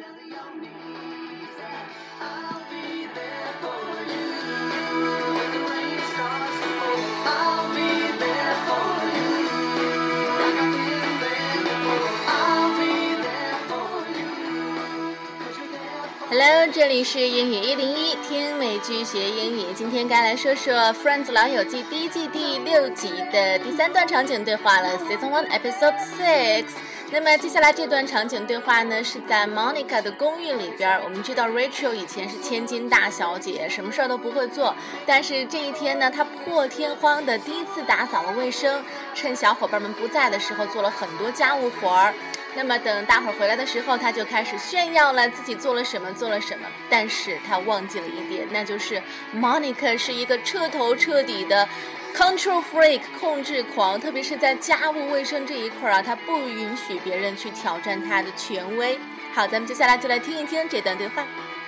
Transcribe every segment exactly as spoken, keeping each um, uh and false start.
Hello， 这里是英语一零一，听美剧学英语。今天该来说说《Friends 老友记》第一季第六集的第三段场景对话了 Season one Episode six。那么接下来这段场景对话呢，是在 Monica 的公寓里边。我们知道 Rachel 以前是千金大小姐，什么事儿都不会做，但是这一天呢，她破天荒的第一次打扫了卫生，趁小伙伴们不在的时候做了很多家务活儿。那么等大伙儿回来的时候，他就开始炫耀了自己做了什么做了什么，但是他忘记了一点，那就是 Monica 是一个彻头彻底的 control freak 控制狂，特别是在家务卫生这一块啊，他不允许别人去挑战他的权威。好，咱们接下来就来听一听这段对话。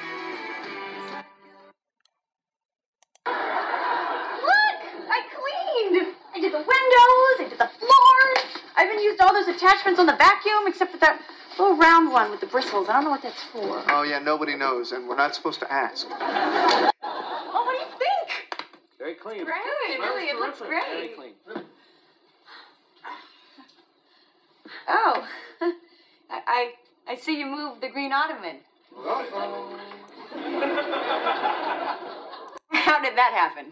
I did the windows, I did the floors. I even used all those attachments on the vacuum except for that little round one with the bristles. I don't know what that's for. Oh, yeah, nobody knows, and we're not supposed to ask. Oh, what do you think? Very clean. It's great, really, it looks great. Very clean. Oh, I, I, I see you moved the green ottoman. How did that happen?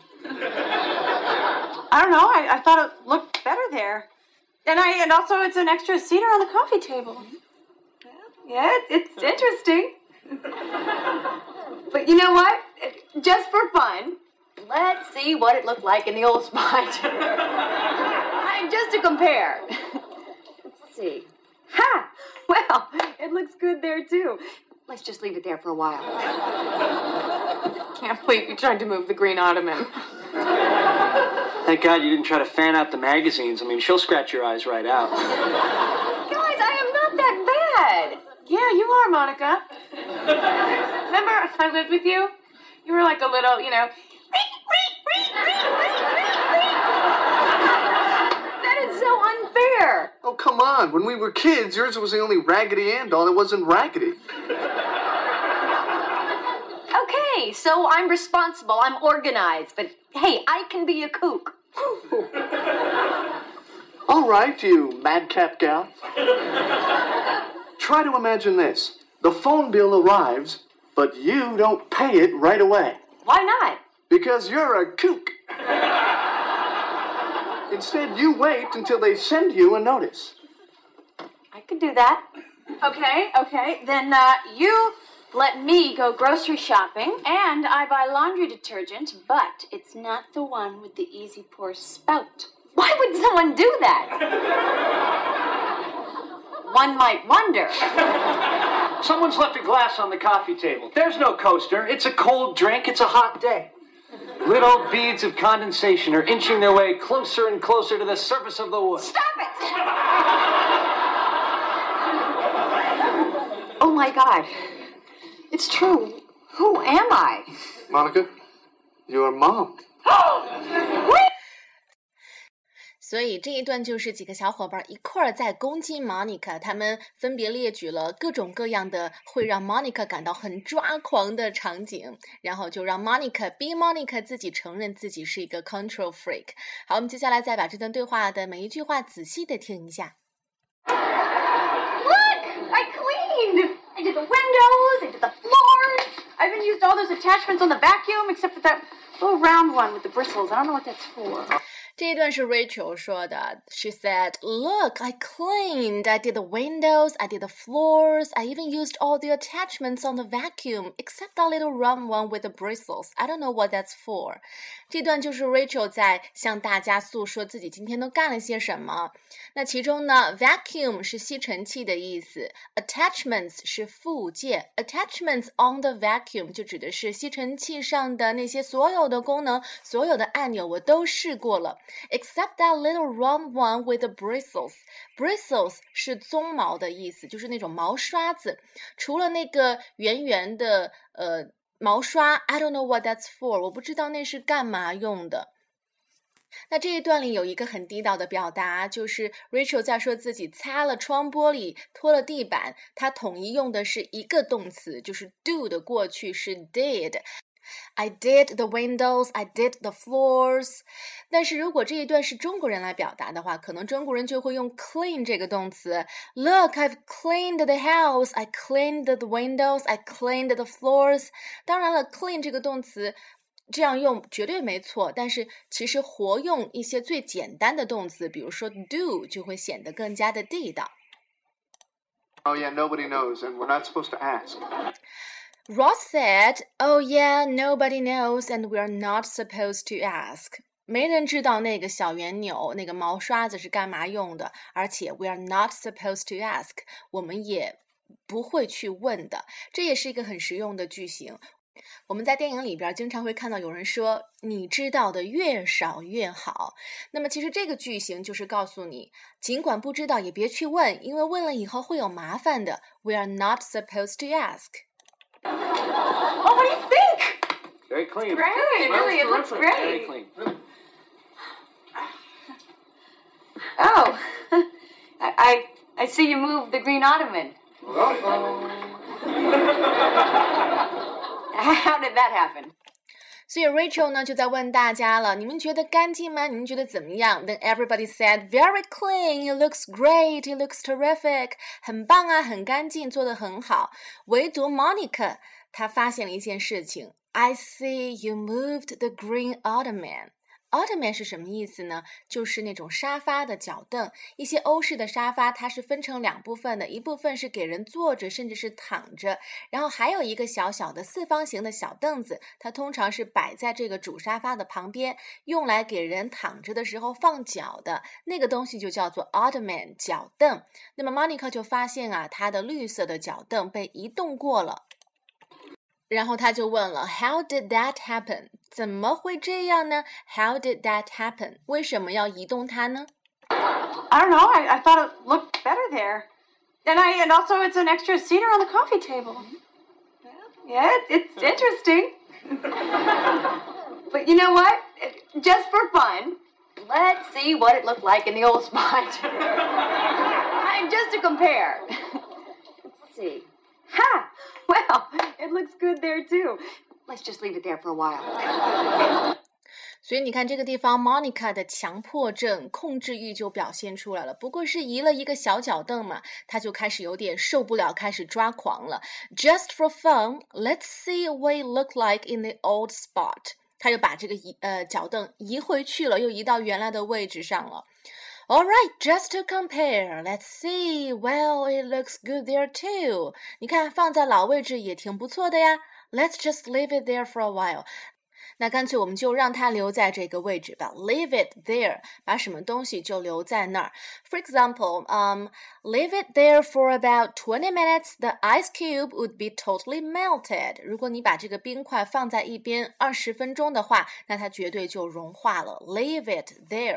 I don't know. I, I thought it looked better there. And I and also it's an extra cedar on the coffee table. Yeah, it's, it's interesting. But you know what? Just for fun, let's see what it looked like in the old spot. Just to compare. Let's see. Ha! Well, it looks good there too. Let's just leave it there for a while. Can't believe you tried to move the green ottoman. Thank God you didn't try to fan out the magazines. I mean, she'll scratch your eyes right out. Guys, I am not that bad. Yeah, you are, Monica. Remember I lived with you? You were like a little, you know... That is so unfair. Oh, come on. When we were kids, yours was the only Raggedy Ann doll that wasn't raggedy. Okay, so I'm responsible, I'm organized, but hey, I can be a kook. All right, you madcap gal. Try to imagine this. The phone bill arrives, but you don't pay it right away. Why not? Because you're a kook. Instead, you wait until they send you a notice. I could do that. Okay, okay, then uh, you... let me go grocery shopping, and I buy laundry detergent, but it's not the one with the easy pour spout. Why would someone do that? One might wonder. Someone's left a glass on the coffee table. There's no coaster. It's a cold drink. It's a hot day. Little beads of condensation are inching their way closer and closer to the surface of the wood. Stop it! Oh, my God. It's true. Who am I? Monica, your mom. Wait! 所以这一段就是几个小伙伴一块儿在攻击 Monica， 他们分别列举了各种各样的会让 Monica 感到很抓狂的场景，然后就让 Monica be Monica 自己承认自己是一个 control freak。好，我们接下来再把这段对话的每一句话仔细的听一下。 Look! I cleaned! I did the windows, I did the floors. I even used all those attachments on the vacuum except for that little round one with the bristles. I don't know what that's for. 这一段是 Rachel 说的。She said, Look, I cleaned. I did the windows, I did the floors. I even used all the attachments on the vacuum, except that little round one with the bristles. I don't know what that's for. 这段就是 Rachel 在向大家诉说自己今天都干了些什么。那其中呢 vacuum 是吸尘器的意思， attachments 是附件， attachments on the vacuum 就指的是吸尘器上的那些所有的功能，所有的按钮我都试过了。Except that little round one with the bristles. Bristles 是鬃毛的意思，就是那种毛刷子。除了那个圆圆的呃毛刷 I don't know what that's for. 我不知道那是干嘛用的。 那这一段里有一个很地道的表达，就是 Rachel 在说自己擦了窗玻璃，拖了地板，她统一用的是一个动词，就是 do 的过去是 did。I did the windows, I did the floors. 但是如果这一段是中国人来表达的话，可能中国人就会用 clean 这个动词。Look, I've cleaned the house, I cleaned the windows, I cleaned the floors. 当然了 clean 这个动词这样用绝对没错，但是其实活用一些最简单的动词，比如说 do 就会显得更加的地道。 Oh yeah, nobody knows, and we're not supposed to ask.Ross said, "Oh yeah, nobody knows and we're not supposed to ask." 没人知道那个小圆钮，那个毛刷子是干嘛用的，而且 we're not supposed to ask. 我们也不会去问的。这也是一个很实用的句型。我们在电影里边经常会看到有人说你知道的越少越好，那么其实这个句型就是告诉你尽管不知道也别去问，因为问了以后会有麻烦的。 We are not supposed to ask.Oh, what do you think? Very clean. Great, really, it looks great. Very clean. Oh, I, I I see you moved the green ottoman. How did that happen? 所以 Rachel 呢就在问大家了，你们觉得干净吗？你们觉得怎么样？ Then everybody said, very clean, it looks great, it looks terrific. 很棒啊，很干净，做得很好。唯独 Monica 她发现了一件事情 I see you moved the green ottoman.Ottoman 是什么意思呢？就是那种沙发的脚凳，一些欧式的沙发它是分成两部分的，一部分是给人坐着甚至是躺着，然后还有一个小小的四方形的小凳子，它通常是摆在这个主沙发的旁边，用来给人躺着的时候放脚的，那个东西就叫做 Ottoman 脚凳。那么 Monica 就发现啊，她的绿色的脚凳被移动过了，然后他就问了 How did that happen? 怎么会这样呢？ How did that happen? 为什么要移动它呢？ I don't know. I, I thought it looked better there. And I and also it's an extra seater on the coffee table. Yeah, it's interesting. But you know what? Just for fun, let's see what it looked like in the old spot. Just to compare. Let's see. Ha! Well, it looks good there too. Let's just leave it there for a while. 所以你看这个地方 Monica 的强迫症控制欲就表现出来了，不过是移了一个小脚凳嘛，她就开始有点受不了，开始抓狂了。 Just for fun, let's see what it looked like in the old spot. 她又把这个移呃脚凳移回去了，又移到原来的位置上了。All right, just to compare, let's see. Well, it looks good there too. 你看放在老位置也挺不错的呀。Let's just leave it there for a while. 那干脆我们就让它留在这个位置吧。Leave it there. 把什么东西就留在那儿。For example, um, leave it there for about twenty minutes. The ice cube would be totally melted. 如果你把这个冰块放在一边二十分钟的话，那它绝对就融化了。Leave it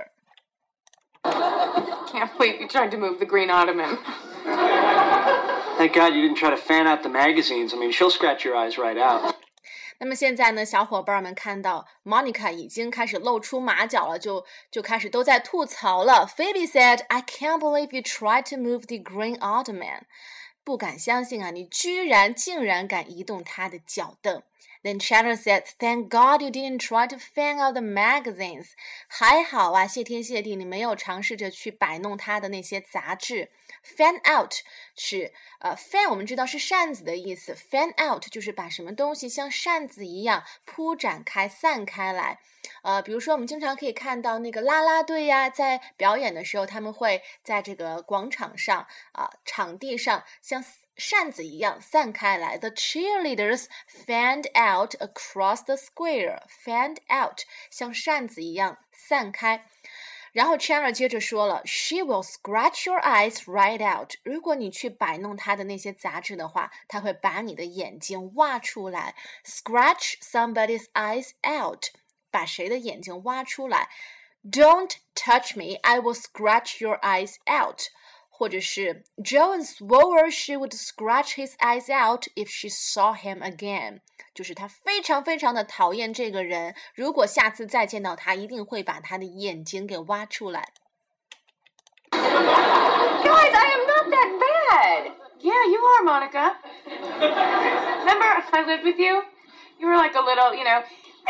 there.Can't believe you tried to move the green ottoman. Thank God you didn't try to fan out the magazines. I mean, she'll scratch your eyes right out. 那么现在呢，小伙伴们看到 Monica 已经开始露出马脚了，就就开始都在吐槽了。Phoebe said, I can't believe you tried to move the green ottoman. 不敢相信啊，你居然竟然敢移动他的脚凳。Then Chandler said, Thank God you didn't try to fan out the magazines. 还好啊，谢天谢地，你没有尝试着去摆弄他的那些杂志。Fan out 是呃 fan 我们知道是扇子的意思 ，fan out 就是把什么东西像扇子一样铺展开、散开来。呃，比如说我们经常可以看到那个啦啦队呀，在表演的时候，他们会在这个广场上啊、呃、场地上像扇子一样散开来。The cheerleaders fanned out across the square. Fanned out 像扇子一样散开。然后 Chandler 接着说了 She will scratch your eyes right out. 如果你去摆弄她的那些杂志的话，她会把你的眼睛挖出来。Scratch somebody's eyes out. 把谁的眼睛挖出来。Don't touch me. I will scratch your eyes out. 或者是 Joan swore she would scratch his eyes out if she saw him again， 就是他非常非常的讨厌这个人，如果下次再见到他，一定会把他的眼睛给挖出来。 Guys, I am not that bad. Yeah, you are, Monica. Remember, I lived with you? You were like a little, you know,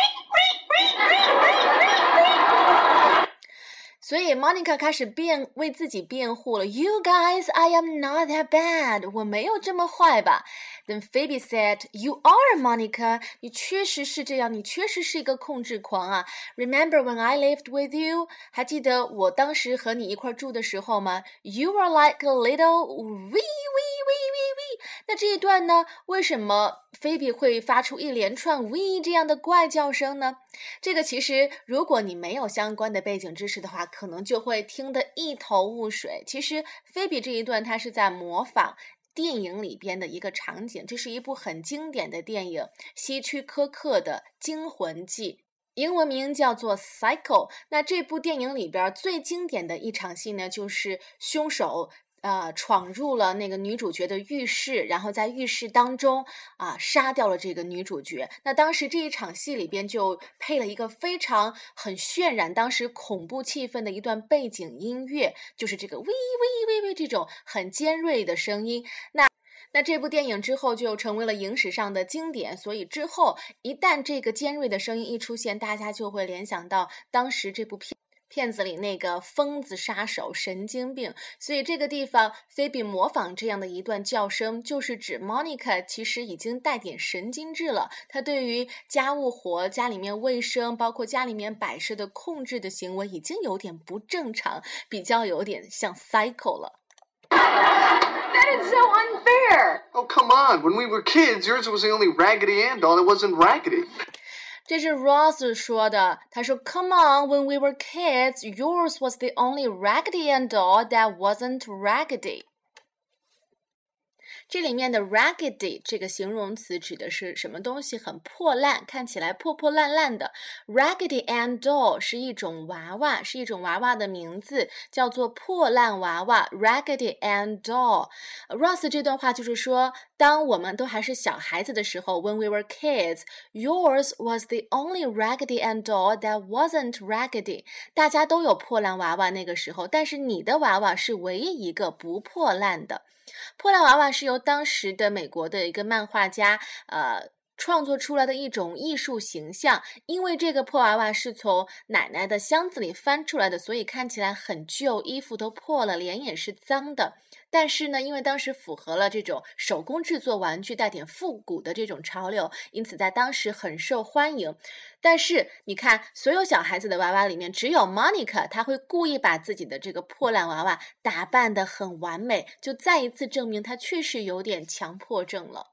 所以 Monica 开始辩为自己辩护了 You guys, I am not that bad. 我没有这么坏吧。Then Phoebe said, You are, Monica. 你确实是这样，你确实是一个控制狂啊。Remember when I lived with you? 还记得我当时和你一块住的时候吗？ You were like a little wee, wee, wee, wee, wee. 那这一段呢，为什么 Phoebe 会发出一连串 wee 这样的怪叫声呢？这个其实如果你没有相关的背景知识的话，可能就会听得一头雾水。其实菲比这一段它是在模仿电影里边的一个场景，这是一部很经典的电影，希区柯克的《惊魂记》，英文名叫做 Psycho。 那这部电影里边最经典的一场戏呢，就是凶手呃，闯入了那个女主角的浴室，然后在浴室当中啊杀掉了这个女主角。那当时这一场戏里边就配了一个非常很渲染当时恐怖气氛的一段背景音乐，就是这个喂喂喂喂这种很尖锐的声音。那那这部电影之后就成为了影史上的经典，所以之后一旦这个尖锐的声音一出现，大家就会联想到当时这部片片子里那个疯子杀手神经病，所以这个地方菲比模仿这样的一段叫声，就是指 Monica 其实已经带点神经质了，她对于家务活、家里面卫生包括家里面摆设的控制的行为已经有点不正常，比较有点像 psycho 了。 That is so unfair. Oh, come on. When we were kids, yours was the only Raggedy Ann doll that wasn't raggedy. 这是 Ross 说的，他说 Come on, when we were kids, yours was the only Raggedy Ann doll that wasn't raggedy. 这里面的 raggedy 这个形容词指的是什么东西很破烂，看起来破破烂烂的。 Raggedy Ann doll 是一种娃娃，是一种娃娃的名字，叫做破烂娃娃 Raggedy Ann doll。 Ross 这段话就是说，当我们都还是小孩子的时候 When we were kids, yours was the only Raggedy Ann doll that wasn't raggedy. 大家都有破烂娃娃那个时候，但是你的娃娃是唯一一个不破烂的。破烂娃娃是由当时的美国的一个漫画家呃创作出来的一种艺术形象，因为这个破娃娃是从奶奶的箱子里翻出来的，所以看起来很旧，衣服都破了，脸也是脏的。但是呢，因为当时符合了这种手工制作玩具带点复古的这种潮流，因此在当时很受欢迎。但是你看，所有小孩子的娃娃里面，只有 Monica 她会故意把自己的这个破烂娃娃打扮得很完美，就再一次证明她确实有点强迫症了。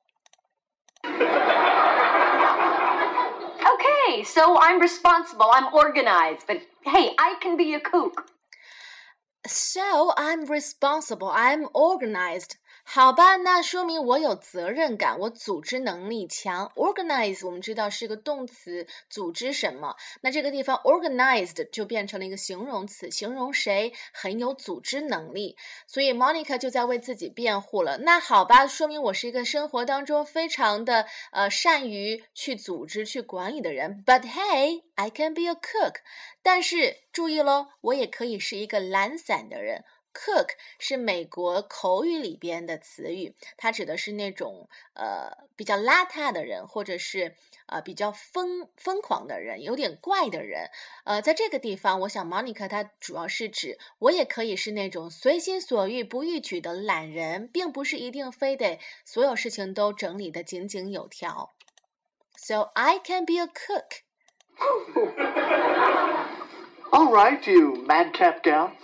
Okay, so I'm responsible, I'm organized, but hey, I can be a kook. So I'm responsible, I'm organized. 好吧，那说明我有责任感，我组织能力强。 Organize 我们知道是个动词，组织什么，那这个地方 organized 就变成了一个形容词，形容谁很有组织能力。所以 Monica 就在为自己辩护了，那好吧，说明我是一个生活当中非常的呃善于去组织去管理的人。 But hey, I can be a cook. 但是注意咯，我也可以是一个懒散的人。Cook 是美国口语里边的词语，它指的是那种呃比较邋遢的人，或者是呃比较疯疯狂的人，有点怪的人。呃，在这个地方，我想 Monica 她主要是指我也可以是那种随心所欲不逾矩的懒人，并不是一定非得所有事情都整理得井井有条。So I can be a cook. All right, you madcap gal.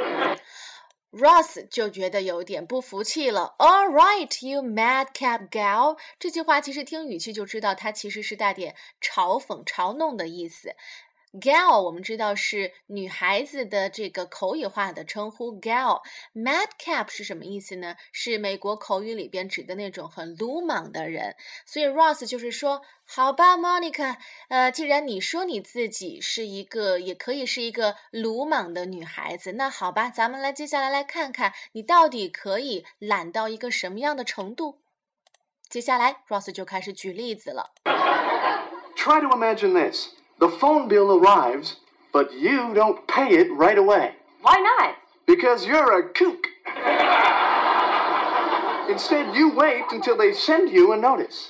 Ross 就觉得有点不服气了。 All right, you madcap gal. 这句话其实听语气就知道它其实是带点嘲讽嘲弄的意思。 Gal 我们知道是女孩子的这个口语化的称呼 Gal。 Madcap 是什么意思呢？是美国口语里边指的那种很鲁莽的人。所以 Ross 就是说，好吧 Monica， 呃，既然你说你自己是一个也可以是一个鲁莽的女孩子，那好吧，咱们来接下来来看看你到底可以懒到一个什么样的程度。接下来 Ross 就开始举例子了。 Try to imagine this. The phone bill arrives, but you don't pay it right away. Why not? Because you're a kook. Instead, you wait until they send you a notice.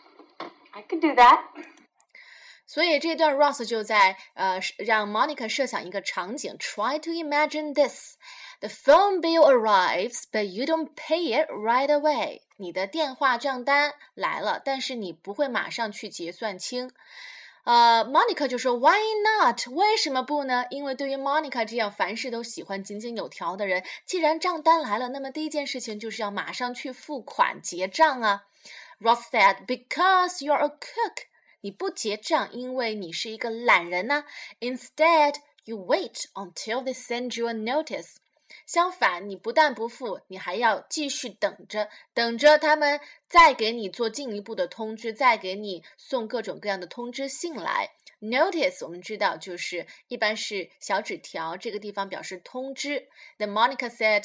I could do that. 所以这段 Ross 就在呃让 Monica 设想一个场景 Try to imagine this. The phone bill arrives, but you don't pay it right away. 你的电话账单来了，但是你不会马上去结算清。呃 Monica 就说 Why not? 为什么不呢？因为对于 Monica 这样凡事都喜欢井井有条的人，既然账单来了，那么第一件事情就是要马上去付款结账啊。Ross said, Because you're a cook. 你不结账，因为你是一个懒人啊。Instead, you wait until they send you a notice. 相反，你不但不付，你还要继续等着，等着他们再给你做进一步的通知，再给你送各种各样的通知信来。Notice 我们知道就是一般是小纸条，这个地方表示通知。Then Monica said,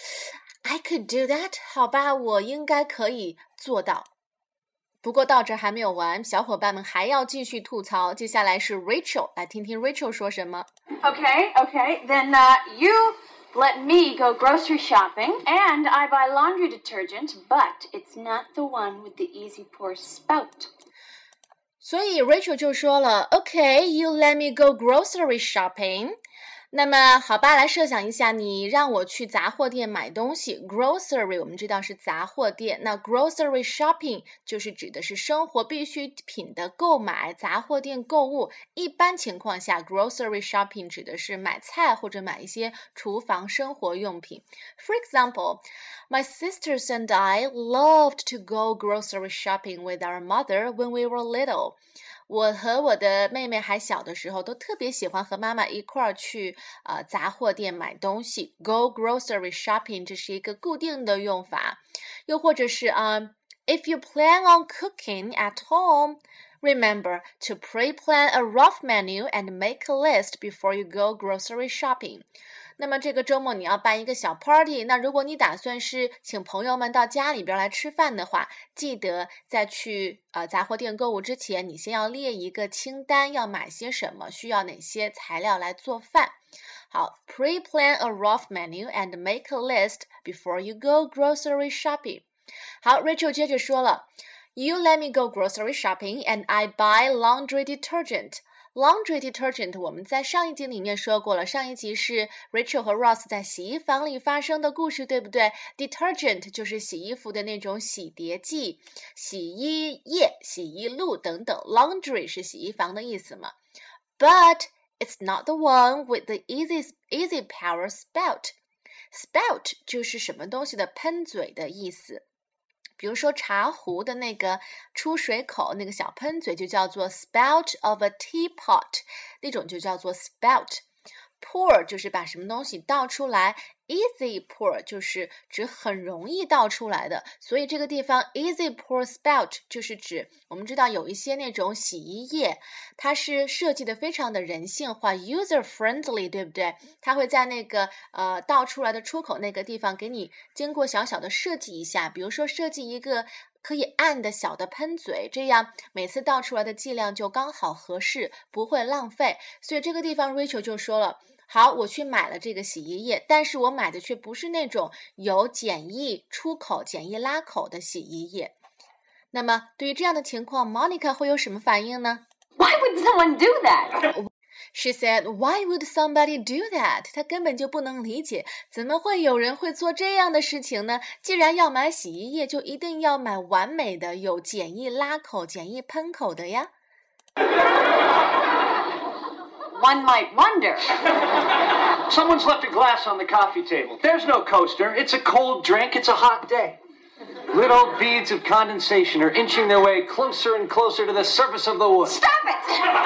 I could do that. 好吧，我应该可以做到。不过到这还没有完，小伙伴们还要继续吐槽。接下来是 Rachel， 来听听 Rachel 说什么。 Okay, okay, then uh, you...Let me go grocery shopping, and I buy laundry detergent, but it's not the one with the easy pour spout. 所以 Rachel 就说了 Okay, you let me go grocery shopping. 那么好吧，来设想一下，你让我去杂货店买东西。 Grocery 我们知道是杂货店，那 grocery shopping 就是指的是生活必需品的购买，杂货店购物。一般情况下 grocery shopping 指的是买菜或者买一些厨房生活用品。 For example, my sisters and I loved to go grocery shopping with our mother when we were little.我和我的妹妹还小的时候都特别喜欢和妈妈一块儿去呃杂货店买东西。 Go grocery shopping 这是一个固定的用法。又或者是啊、um, If you plan on cooking at home, remember to pre-plan a rough menu and make a list before you go grocery shopping. 那么这个周末你要办一个小 party， 那如果你打算是请朋友们到家里边来吃饭的话，记得在去呃杂货店购物之前，你先要列一个清单，要买些什么，需要哪些材料来做饭。好 pre-plan a rough menu and make a list before you go grocery shopping. 好 Rachel 接着说了 You let me go grocery shopping and I buy laundry detergent.Laundry detergent 我们在上一集里面说过了，上一集是 Rachel 和 Ross 在洗衣房里发生的故事，对不对？ Detergent 就是洗衣服的那种洗涤剂，洗衣液、洗衣露等等。Laundry 是洗衣房的意思嘛。 But it's not the one with the easy, easy power spout. Spout 就是什么东西的喷嘴的意思。比如说茶壶的那个出水口，那个小喷嘴就叫做 spout of a teapot， 那种就叫做 spout。Pour 就是把什么东西倒出来， easy pour 就是指很容易倒出来的，所以这个地方 easy pour spout 就是指我们知道有一些那种洗衣液，它是设计的非常的人性化 user friendly， 对不对？它会在那个呃倒出来的出口那个地方给你经过小小的设计一下，比如说设计一个可以按的小的喷嘴，这样每次倒出来的剂量就刚好合适，不会浪费。所以这个地方 Rachel 就说了，好，我去买了这个洗衣液，但是我买的却不是那种有简易出口、简易拉口的洗衣液。那么对于这样的情况 Monica 会有什么反应呢？ Why would someone do that? She said, Why would somebody do that? 她根本就不能理解，怎么会有人会做这样的事情呢？既然要买洗衣液，就一定要买完美的、有简易拉口、简易喷口的呀。 One might wonder. Someone's left a glass on the coffee table. There's no coaster. It's a cold drink. It's a hot day. Little beads of condensation are inching their way closer and closer to the surface of the wood. Stop it!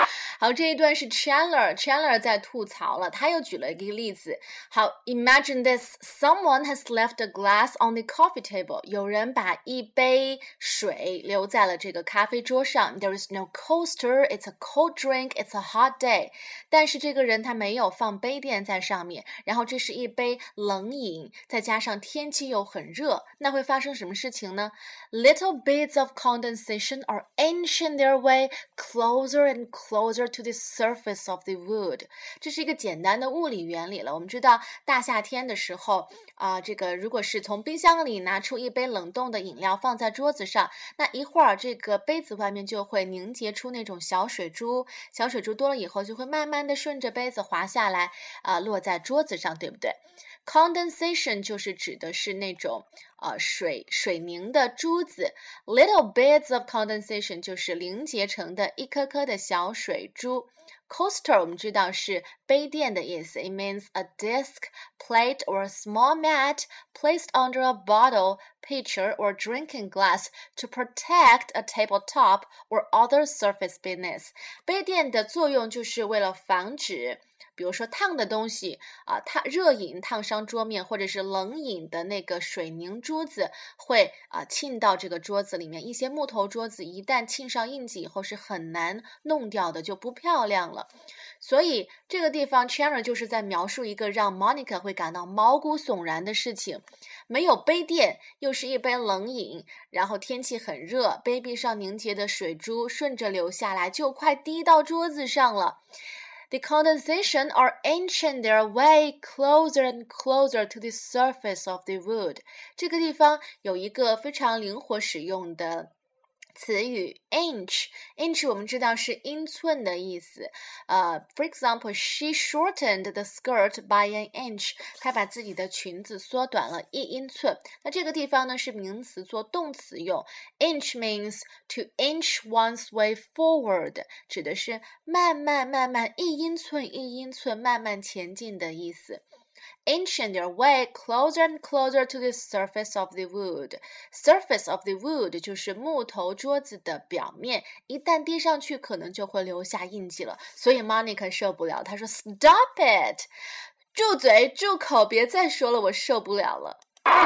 好，这一段是 Chandler Chandler 在吐槽了，他又举了一个例子。好 Imagine this, someone has left a glass on the coffee table. 有人把一杯水留在了这个咖啡桌上。There is no coaster, it's a cold drink, it's a hot day. 但是这个人他没有放杯垫在上面，然后这是一杯冷饮，再加上天气又很热，那会发生什么事情呢？ Little bits of condensation are inching their way closer and closer to the surface of the wood. 这是一个简单的物理原理了。我们知道大夏天的时候啊、呃，这个如果是从冰箱里拿出一杯冷冻的饮料放在桌子上，那一会儿这个杯子外面就会凝结出那种小水珠，小水珠多了以后就会慢慢的顺着杯子滑下来啊、呃，落在桌子上，对不对？ Condensation 就是指的是那种呃水水凝的珠子， Little bits of condensation 就是凝结成的一颗颗的小水珠。Coaster 我们知道是杯垫的意思， It means a disc, plate or a small mat placed under a bottle, pitcher or drinking glass to protect a tabletop or other surface business. 杯垫的作用就是为了防止比如说烫的东西啊，烫热饮烫伤桌面，或者是冷饮的那个水凝珠子会啊沁到这个桌子里面。一些木头桌子一旦沁上印记以后是很难弄掉的，就不漂亮了。所以这个地方 Chandler 就是在描述一个让 Monica 会感到毛骨悚然的事情。没有杯垫，又是一杯冷饮，然后天气很热，杯壁上凝结的水珠顺着流下来，就快滴到桌子上了。The condensation are inching their way closer and closer to the surface of the wood. 这个地方有一个非常灵活使用的词语 inch inch 我们知道是英寸的意思。呃、uh, For example, she shortened the skirt by an inch. 她把自己的裙子缩短了一英寸。那这个地方呢是名词做动词用。Inch means to inch one's way forward. 指的是慢慢慢慢一英寸一英寸慢慢前进的意思。Inching their way closer and closer to the surface of the wood. Surface of the wood 就是木头桌子的表面，一旦滴上去可能就会留下印记了。所以 Monica 受不了，她说 Stop it! 住嘴，住口，别再说了，我受不了了。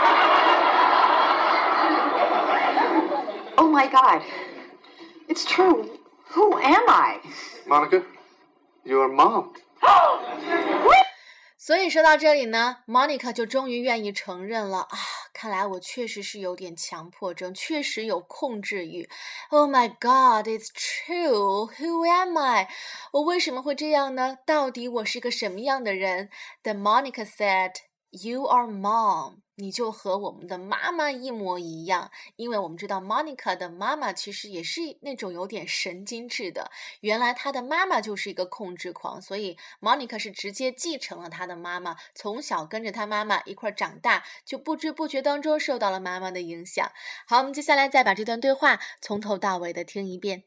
Oh my God. It's true. Who am I? Monica, your mom. What? 所以说到这里呢 Monica 就终于愿意承认了啊，看来我确实是有点强迫症，确实有控制欲。Oh my God, it's true. Who am I? 我为什么会这样呢？到底我是个什么样的人？ Then Monica said, You are mom. 你就和我们的妈妈一模一样，因为我们知道 Monica 的妈妈其实也是那种有点神经质的，原来她的妈妈就是一个控制狂，所以 Monica 是直接继承了她的妈妈，从小跟着她妈妈一块长大，就不知不觉当中受到了妈妈的影响。好，我们接下来再把这段对话从头到尾的听一遍。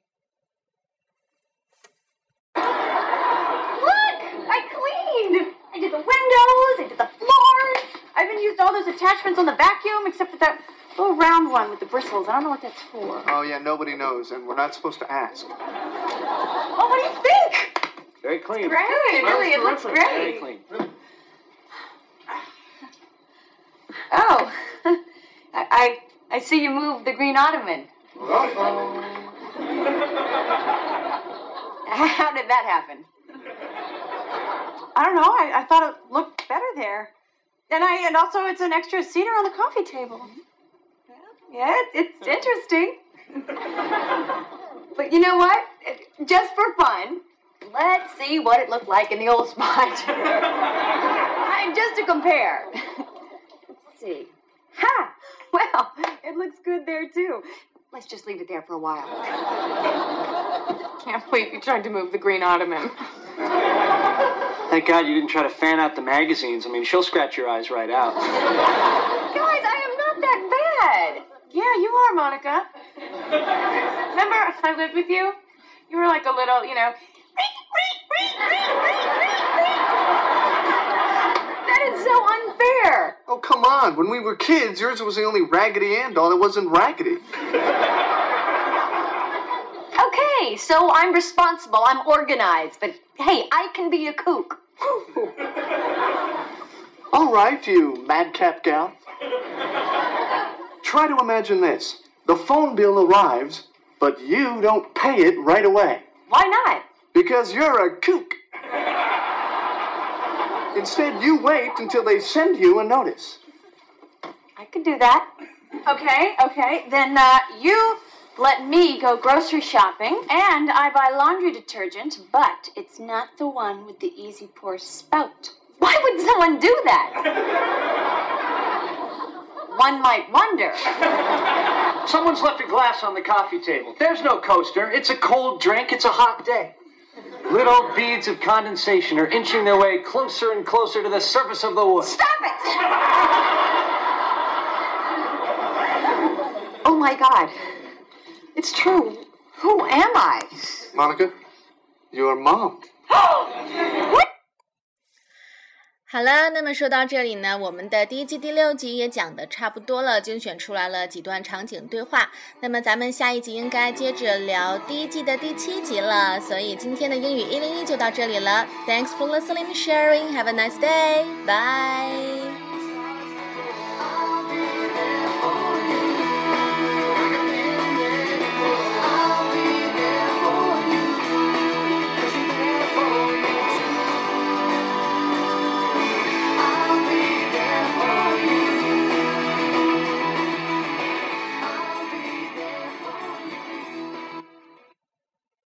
Look! I cleaned! I did the windows, I did the floors. I haven't used all those attachments on the vacuum except for that little round one with the bristles. I don't know what that's for. Oh, yeah, nobody knows, and we're not supposed to ask. Oh, what do you think? Very clean. It's great, really, it looks great. Very clean. Oh, I, I I see you moved the green ottoman. How did that happen? I don't know. I, I thought it looked better there. And I and also it's an extra cedar on the coffee table. Yeah, it's, it's interesting. But you know what? Just for fun, let's see what it looked like in the old spot. I, just to compare. Let's see. Ha! Well, it looks good there too. Let's just leave it there for a while. Can't believe you tried to move the green ottoman. Thank God you didn't try to fan out the magazines. I mean, she'll scratch your eyes right out. Guys, I am not that bad. Yeah, you are, Monica. Remember I lived with you? You were like a little, you know... That is so unfair. Oh, come on. When we were kids, yours was the only Raggedy Ann doll that wasn't raggedy. Okay, Okay, so I'm responsible, I'm organized, but hey, I can be a kook. All right, you madcap gal. Try to imagine this. The phone bill arrives, but you don't pay it right away. Why not? Because you're a kook. Instead, you wait until they send you a notice. I could do that. Okay, okay, then uh, you let me go grocery shopping, and I buy laundry detergent, but it's not the one with the easy pour spout. Why would someone do that? One might wonder. Someone's left a glass on the coffee table. There's no coaster. It's a cold drink. It's a hot day. Little beads of condensation are inching their way closer and closer to the surface of the wood. Stop it! Oh my God. It's true. Who am I? Monica, your mom. What? 好了，那么说到这里呢，我们的第一季第六集也讲的差不多了，精选出来了几段场景对话。那么咱们下一集应该接着聊第一季的第七集了，所以今天的英语一零一就到这里了。Thanks for listening and sharing. Have a nice day. Bye.